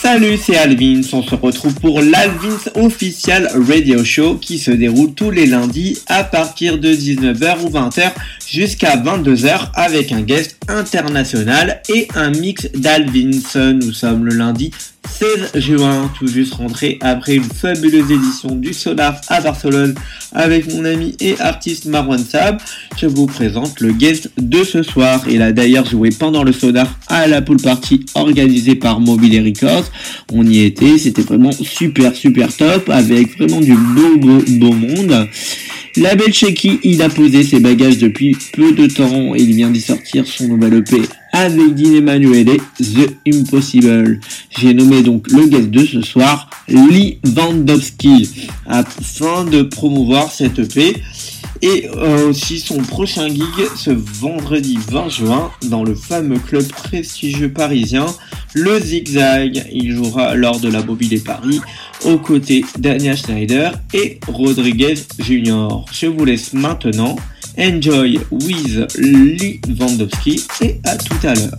Salut, c'est Alvins, on se retrouve pour l'Alvins Official Radio Show qui se déroule tous les lundis à partir de 19h ou 20h jusqu'à 22h avec un guest international et un mix d'Alvins. Nous sommes le lundi 16 juin, tout juste rentré après une fabuleuse édition du Sonar à Barcelone avec mon ami et artiste Marwan Saab. Je vous présente le guest de ce soir. Il a d'ailleurs joué pendant le Sonar à la pool party organisée par Mobile Records. On y était, c'était vraiment super top avec vraiment du beau monde. Label Shaky, il a posé ses bagages depuis peu de temps et il vient d'y sortir son nouvel EP avec Dean Emanuele, The Impossible. J'ai nommé donc le guest de ce soir, Lee Vandowski, afin de promouvoir cet EP et aussi son prochain gig ce vendredi 20 juin dans le fameux club prestigieux parisien, le Zigzag. Il jouera lors de la Mobile Paris aux côtés d'Anya Schneider et Rodriguez Jr. Je vous laisse maintenant. Enjoy with Lee Vandowski et à tout à l'heure.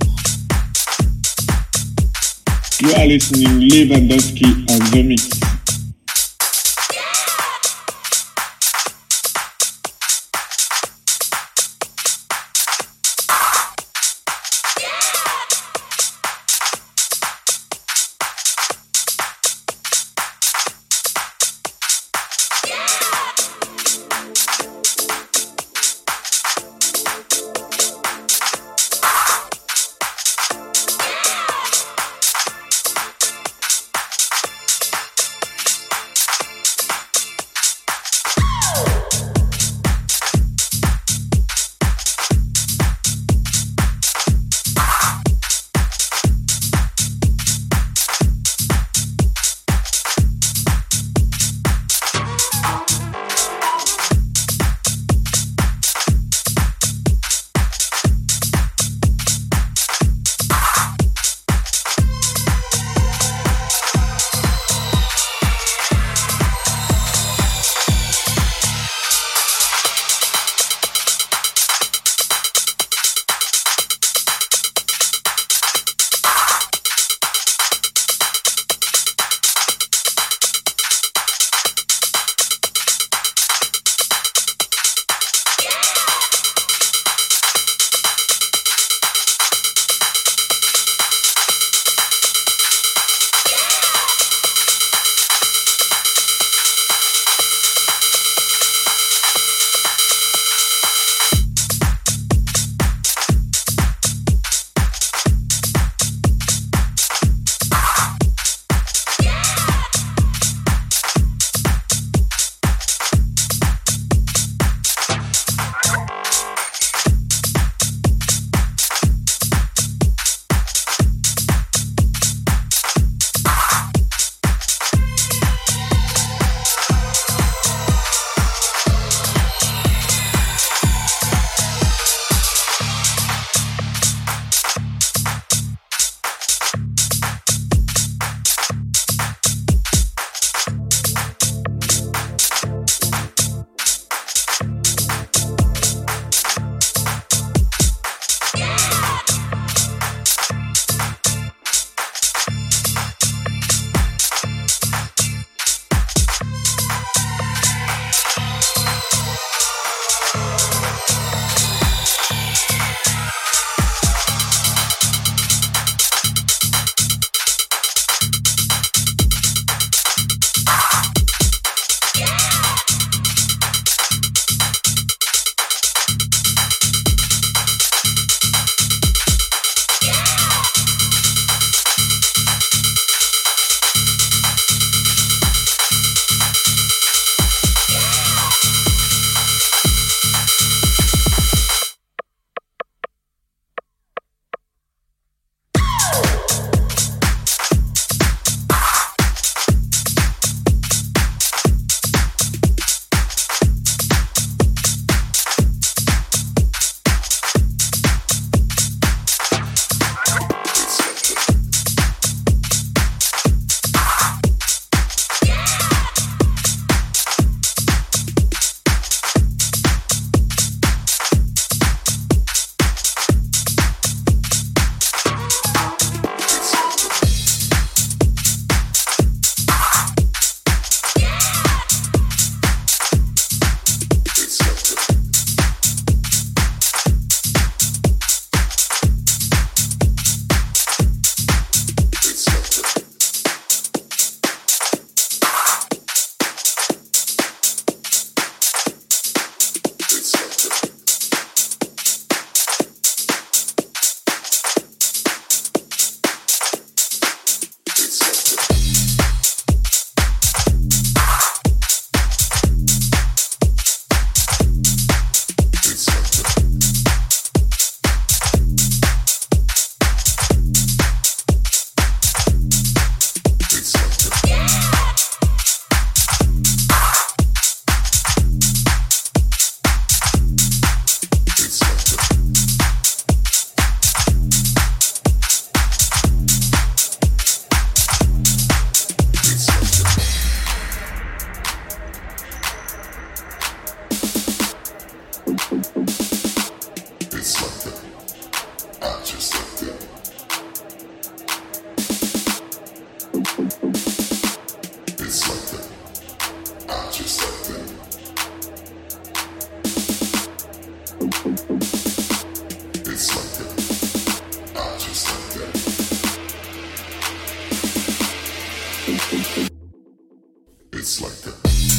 You are listening Lee Vandowski on the mix. It's like that.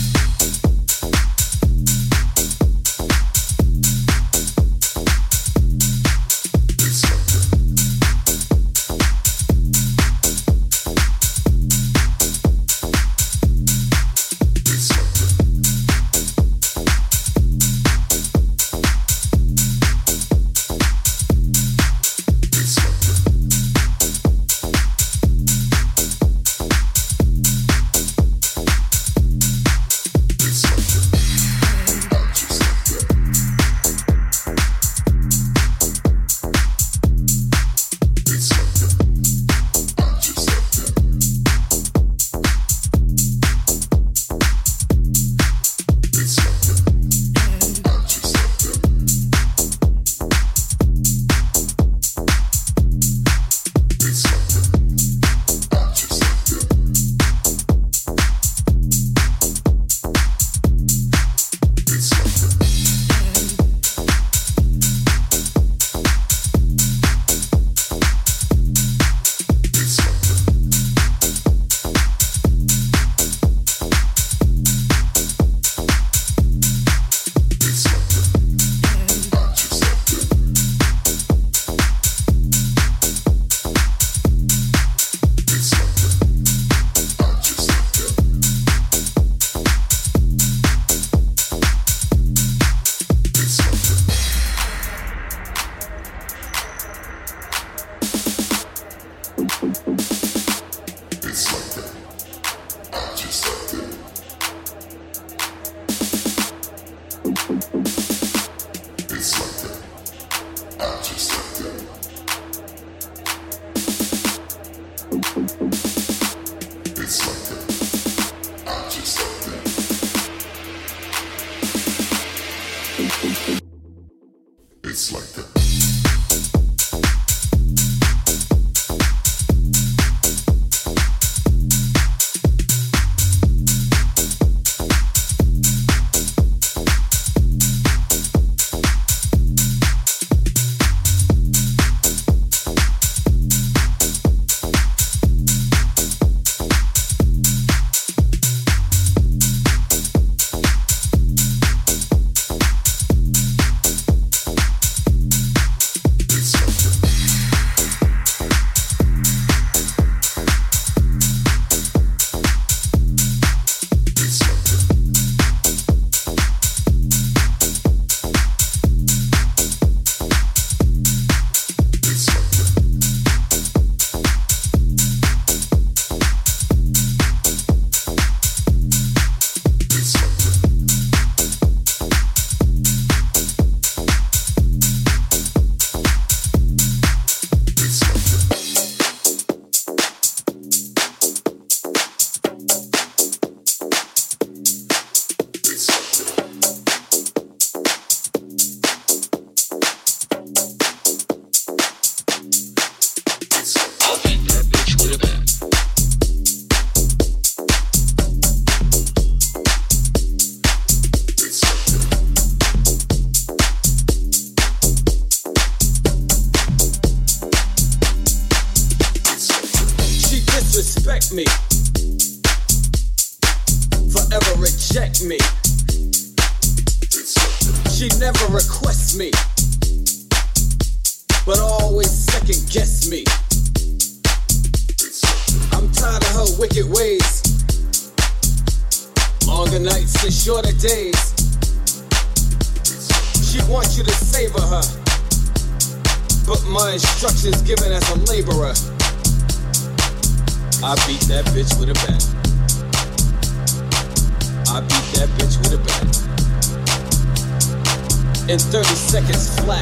me, forever reject me. She never requests me, but always second guess me. I'm tired of her wicked ways, longer nights and shorter days. She wants you to savor her, but my instructions given as a laborer. I beat that bitch with a bat. I beat that bitch with a bat. In 30 seconds flat.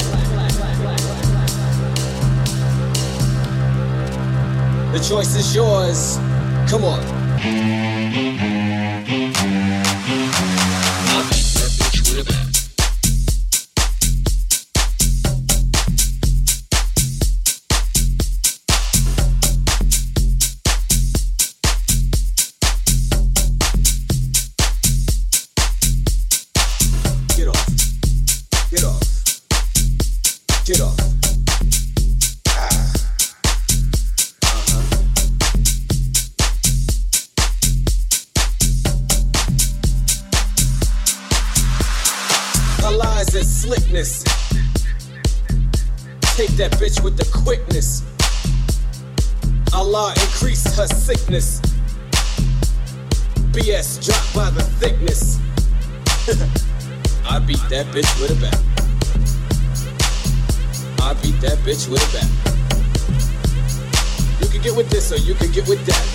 The choice is yours. Come on. I beat that bitch with a bat. Get off. slickness. Take that bitch with the quickness. Allah increase her sickness. BS dropped by the thickness. I beat that bitch with a bat. I beat that bitch with a bat. You can get with this or you can get with that.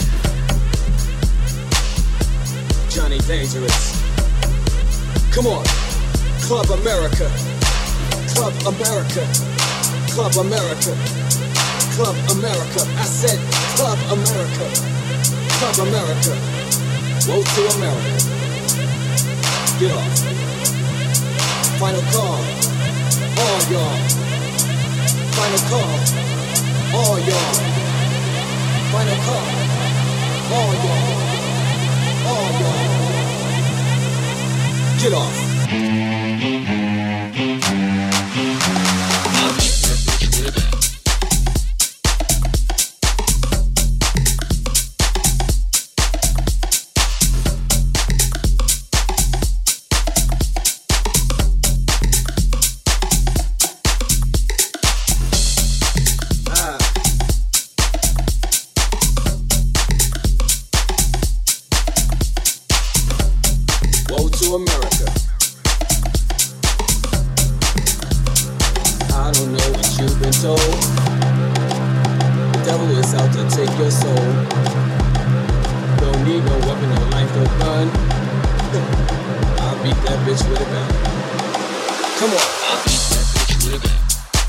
Johnny Dangerous. Come on. Club America. Club America. Club America. Club America. I said Club America. Club America. Woe to America. Get off. Final call. All y'all. Final call. All y'all. Final call. All y'all. All y'all. Get off. America. I don't know what you've been told. The devil is out to take your soul. Don't need no weapon, no knife, no gun. I'll beat that bitch with a gun. Come on. I'll beat that bitch with a gun.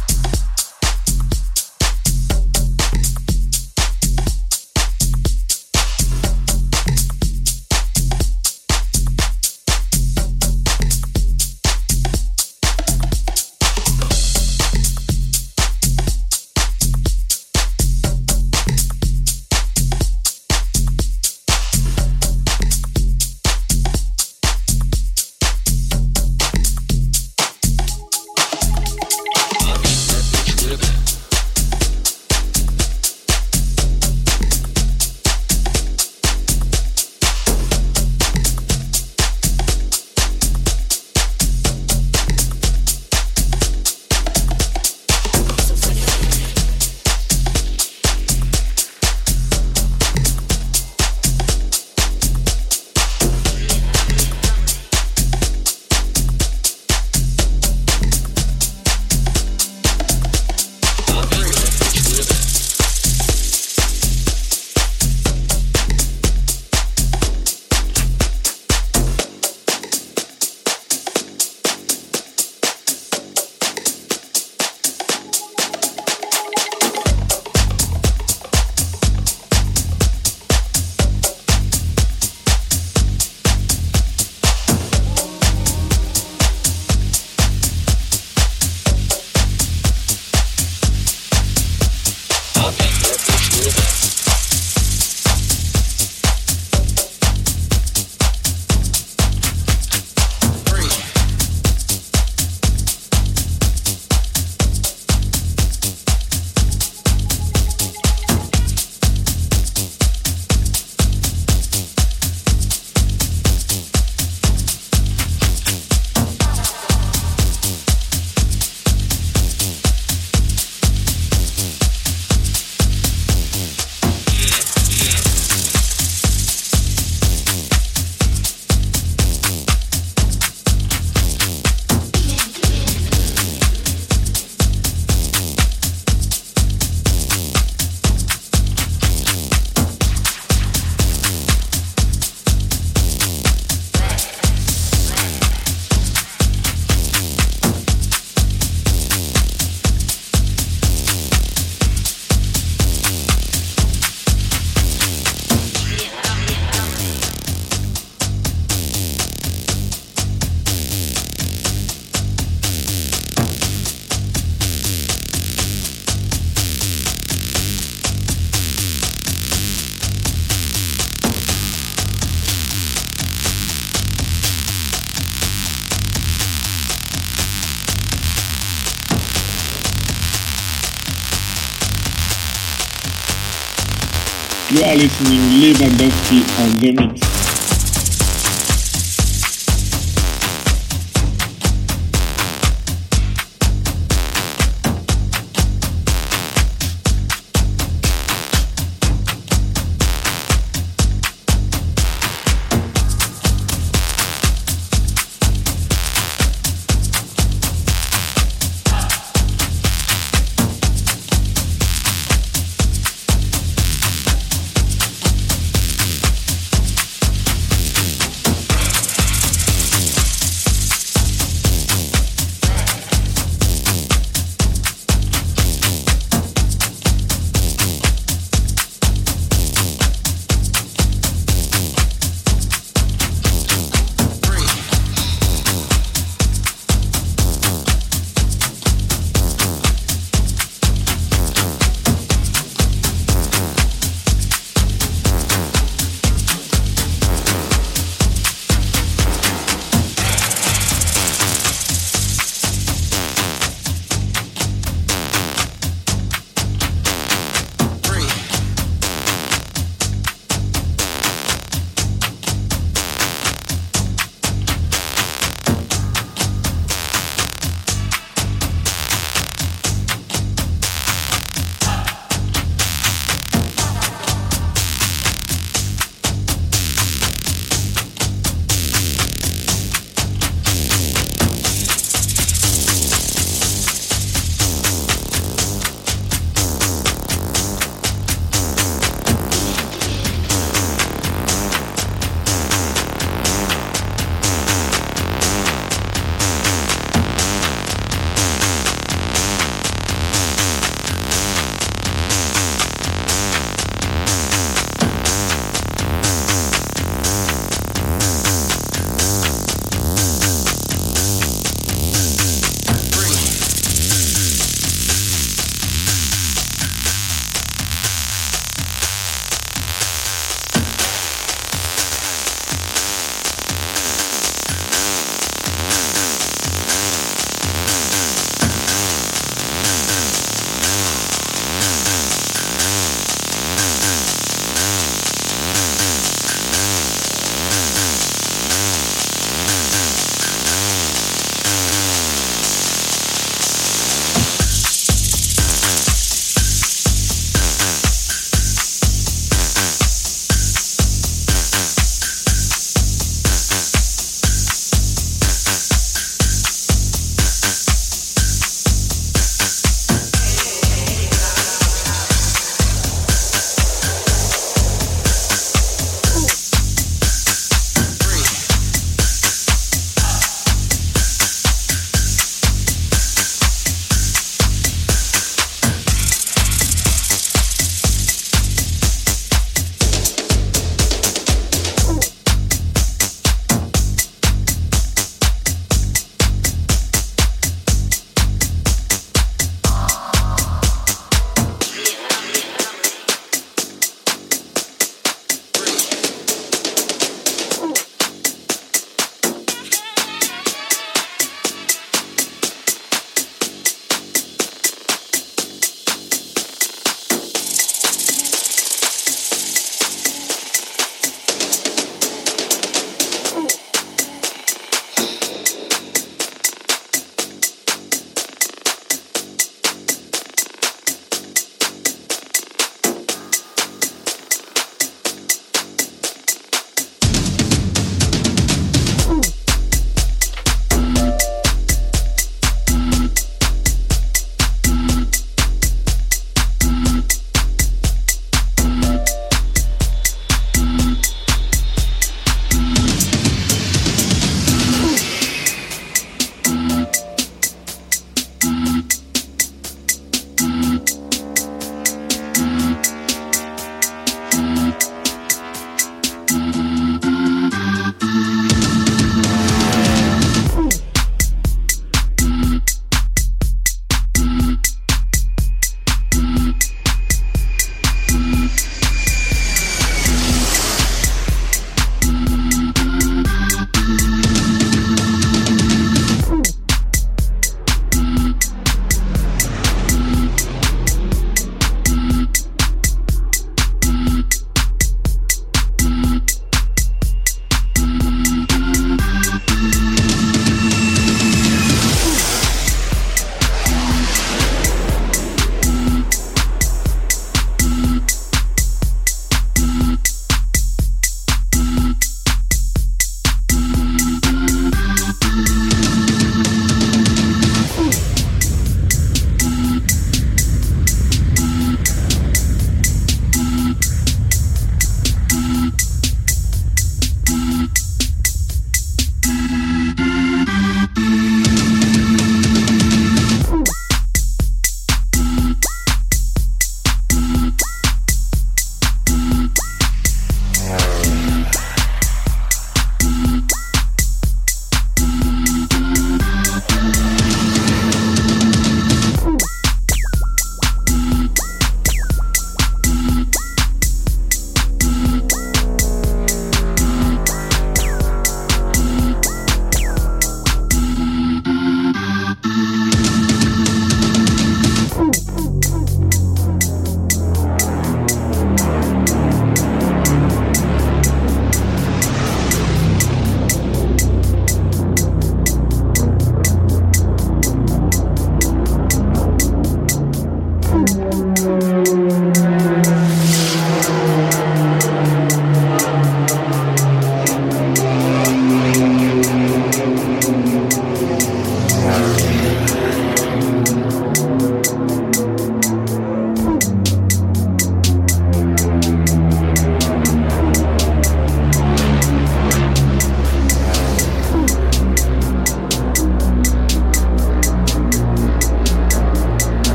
You are listening Lewandowski on the mix.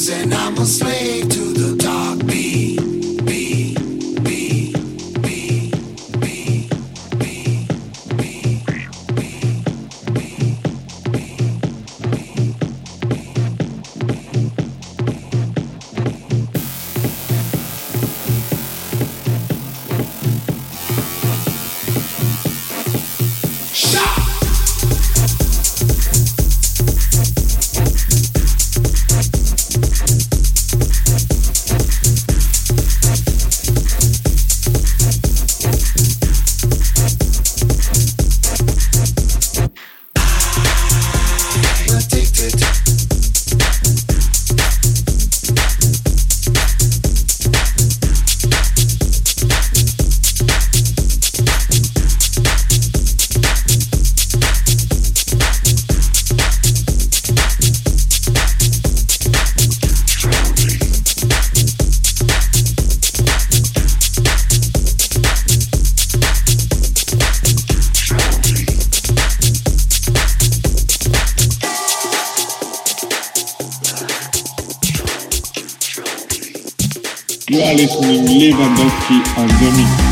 and I'm a slave to the dark beat. You are listening Lewandowski on the mix.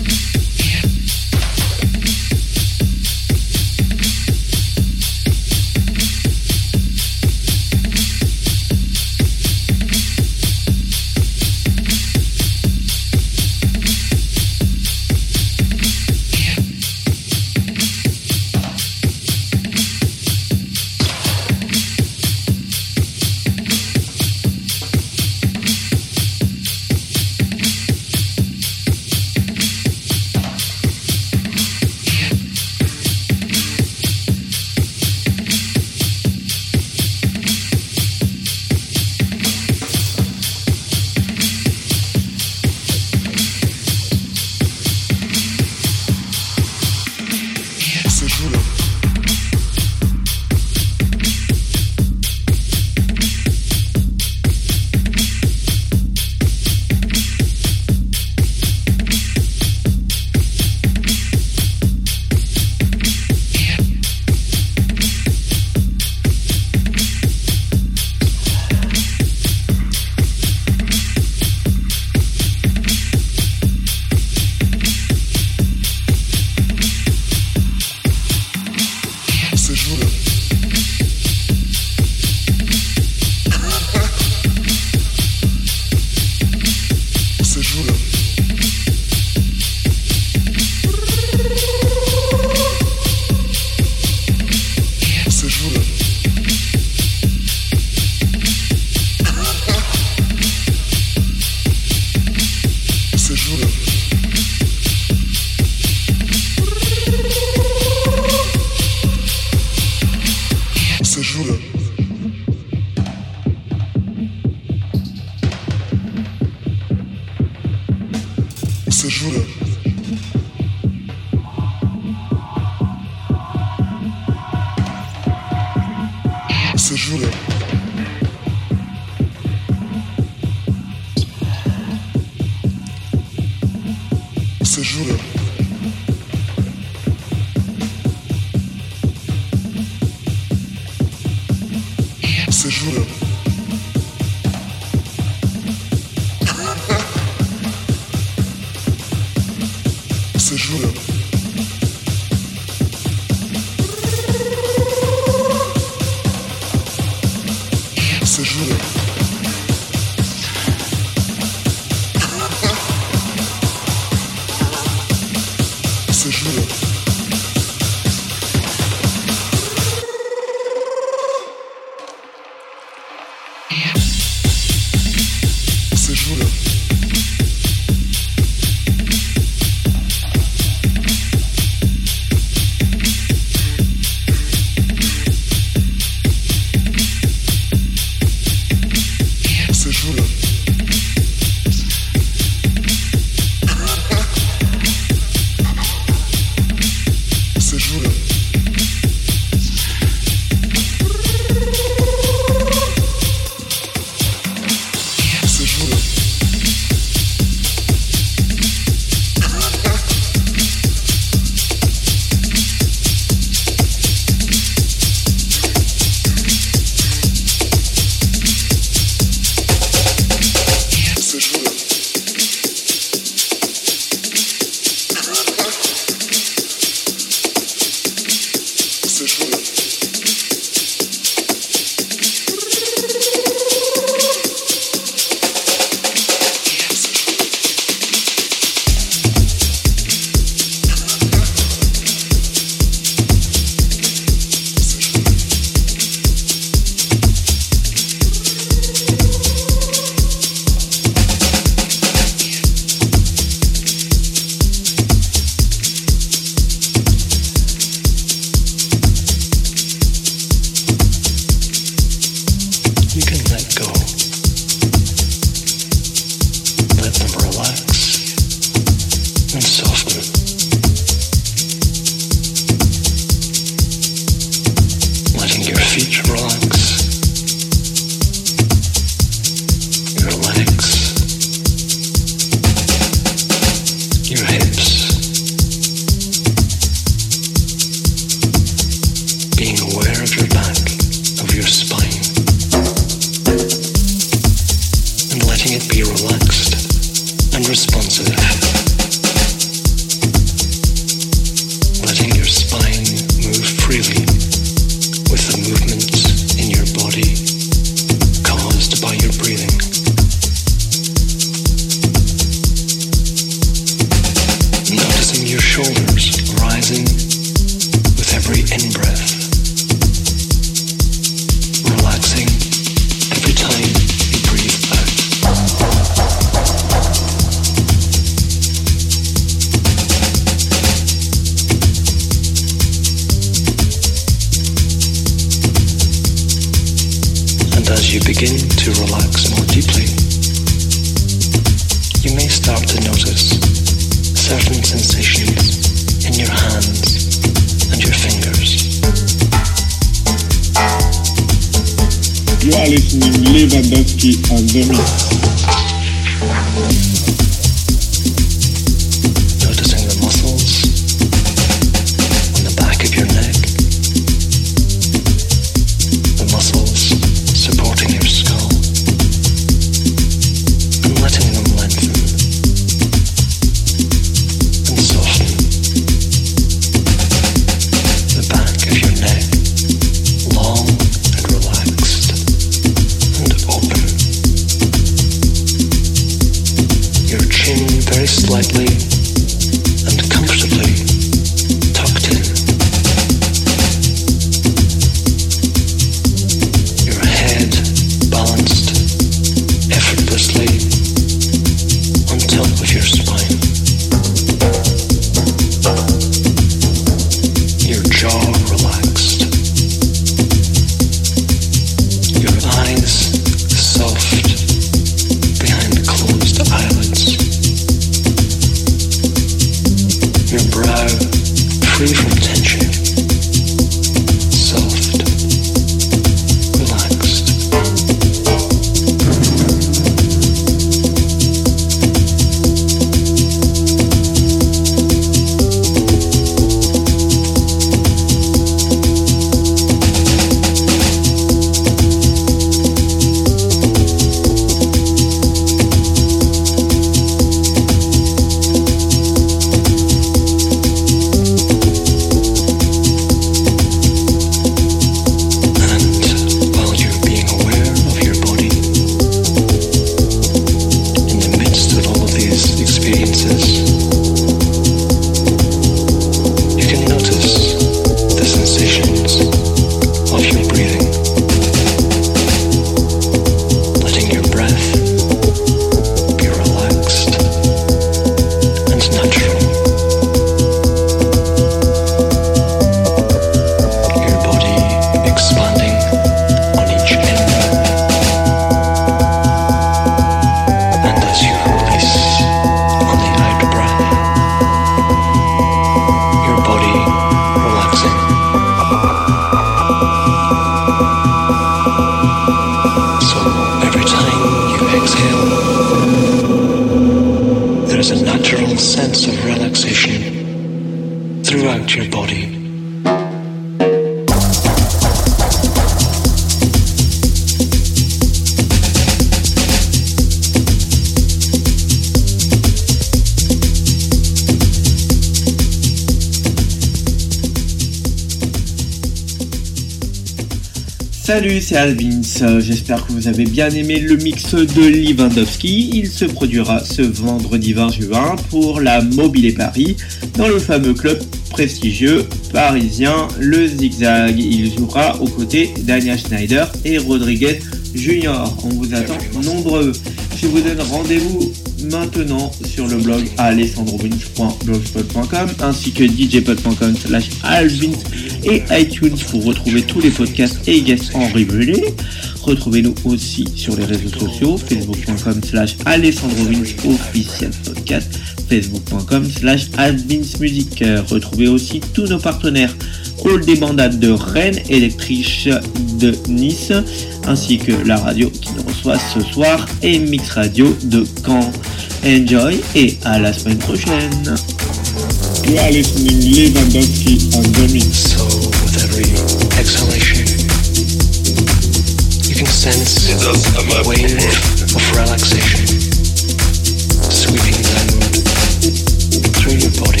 Salut, c'est Alvins, j'espère que vous avez bien aimé le mix de Lewandowski. Il se produira ce vendredi 20 juin pour la Mobile Paris dans le fameux club prestigieux parisien, le Zigzag. Il jouera aux côtés d'Anya Schneider et Rodriguez Junior. On vous attend nombreux. Je vous donne rendez-vous maintenant sur le blog alessandrovins.blogspot.com ainsi que djpod.com/alvins et iTunes pour retrouver tous les podcasts et guests en replay. Retrouvez-nous aussi sur les réseaux sociaux, facebook.com/alessandrovins officiel podcast, facebook.com/alvinsmusic. Retrouvez aussi tous nos partenaires, Hall des Bandades de Rennes, Electric de Nice, ainsi que la radio qui nous reçoit ce soir et Mix Radio de Caen. Enjoy et à la semaine prochaine. You are listening Lewandowski on the mix. So with every exhalation, you can sense a wave of relaxation sweeping down through your body,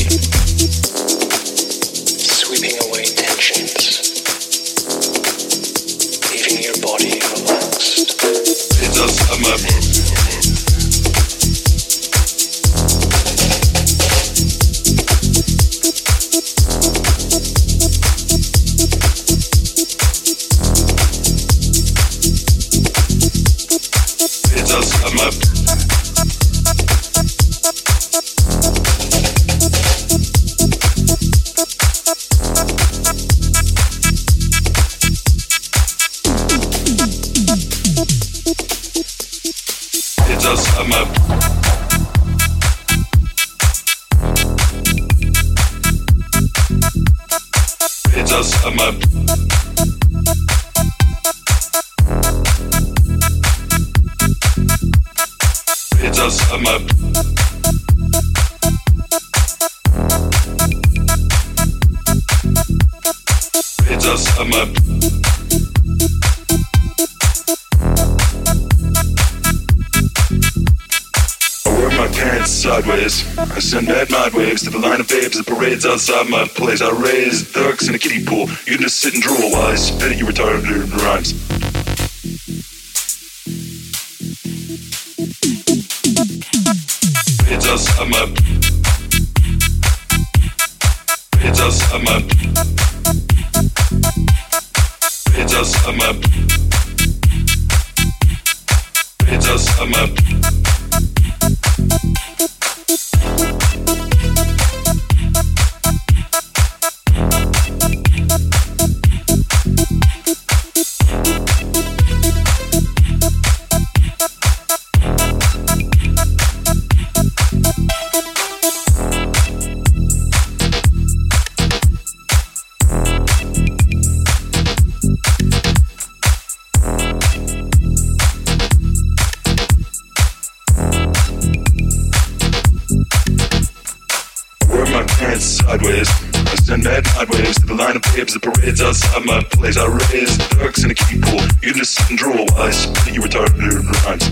sweeping away tensions, leaving your body relaxed. It does come up. I send bad mind waves to the line of babes that parades outside my place. I raise ducks in a kiddie pool. You can just sit and drool while I spit at you retarded rhymes. It does come up. It does come up. It does come up. It does come up. Sideways, I send bad mind waves to the line of babes that parades outside my place. I raise ducks in a kiddie pool. You can just sit and drool while I spit at you retarded rhymes.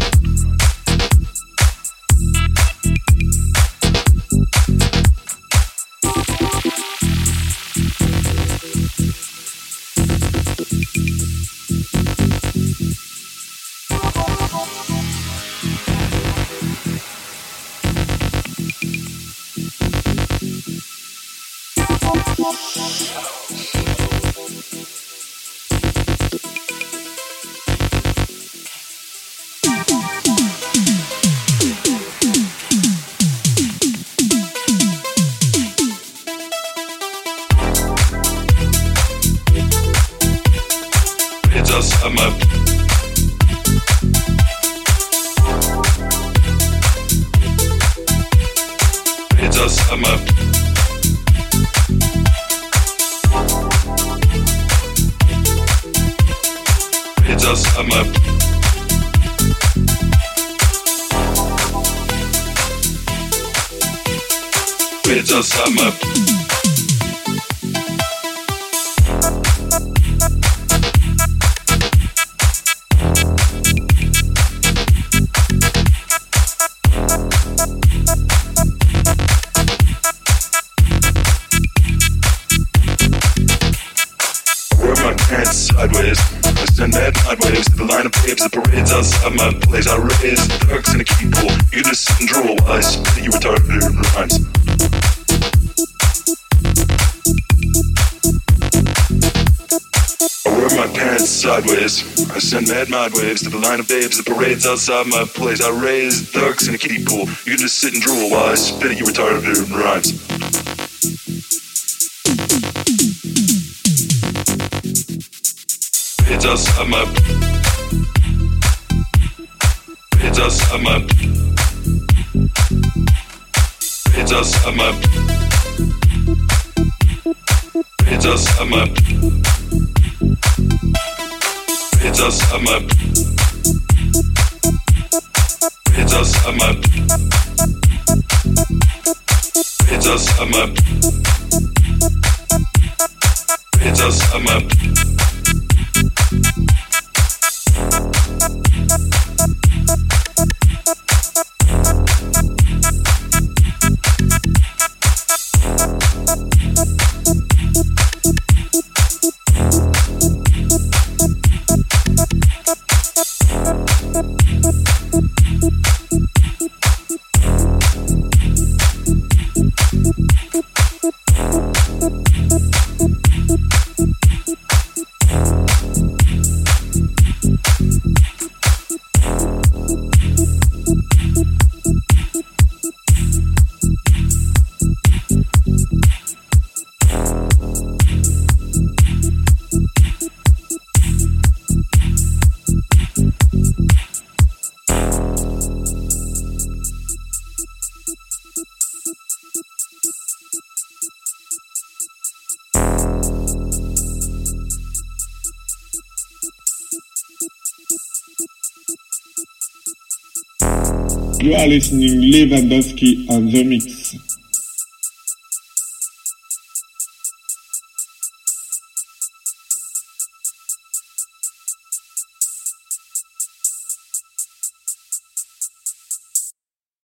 I'm up. It does come up. It does come up. It does come up. sideways. I send mad mind waves to the line of babes that parades outside my place. I raise ducks in a kiddie pool. You just sit and drool while I spit you retarded rhymes. I wear my pants sideways. I send mad mind waves to the line of babes that parades outside my place. I raise ducks in a kiddie pool. You just sit and drool while I spit at you retarded rhymes. It's outside my. It's outside my. It's outside my. It's outside my. It's outside my. It's outside my. It's outside my. It's outside my. You are listening Lewandowski on the mix.